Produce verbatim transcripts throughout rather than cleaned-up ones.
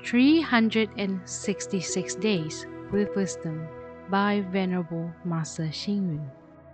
three hundred sixty-six Days with Wisdom by Venerable Master Xing Yun.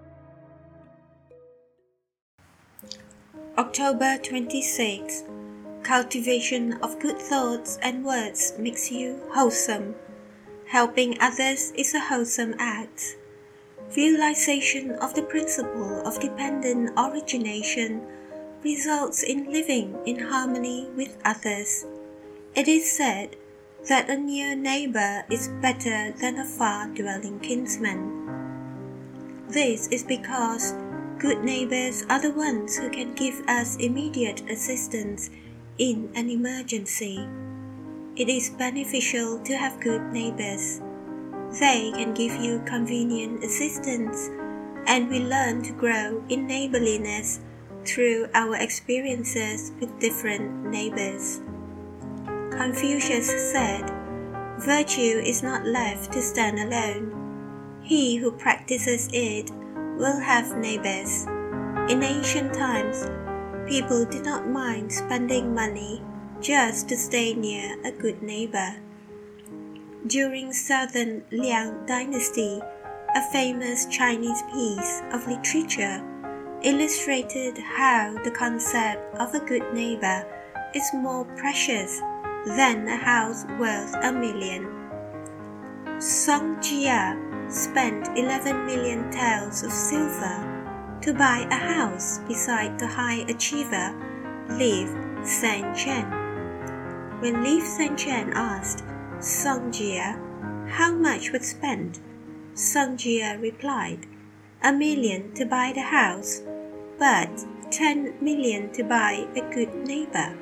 October twenty-sixth. Cultivation of good thoughts and words makes you wholesome. Helping others is a wholesome act. Realization of the principle of dependent origination results in living in harmony with others. It is said that a near neighbor is better than a far-dwelling kinsman. This is because good neighbors are the ones who can give us immediate assistance in an emergency. It is beneficial to have good neighbors. They can give you convenient assistance, and we learn to grow in neighborliness through our experiences with different neighbors. Confucius said, "Virtue is not left to stand alone. He who practices it will have neighbors." In ancient times, people did not mind spending money just to stay near a good neighbor. During Southern Liang Dynasty, a famous Chinese piece of literature illustrated how the concept of a good neighbor is more precious than a house worth a million. Song Jia spent eleven million taels of silver to buy a house beside the high achiever Li Sanchen. When Li Sanchen asked Song Jia how much was spent, Song Jia replied, "A million to buy the house, but ten million to buy a good neighbor."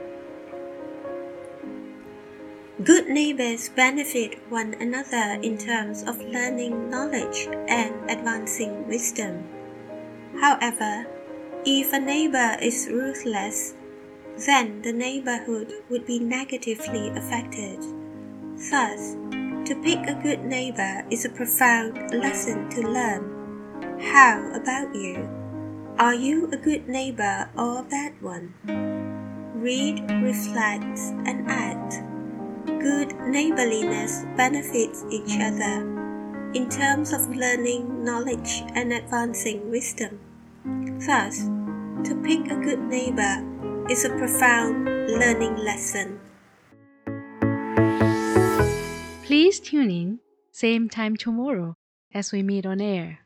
Good neighbors benefit one another in terms of learning knowledge and advancing wisdom. However, if a neighbor is ruthless, then the neighborhood would be negatively affected. Thus, to pick a good neighbor is a profound lesson to learn. How about you? Are you a good neighbor or a bad one? Read, reflect, and act. Good neighborliness benefits each other in terms of learning knowledge and advancing wisdom. Thus, to pick a good neighbor is a profound learning lesson. Please tune in, same time tomorrow as we meet on air.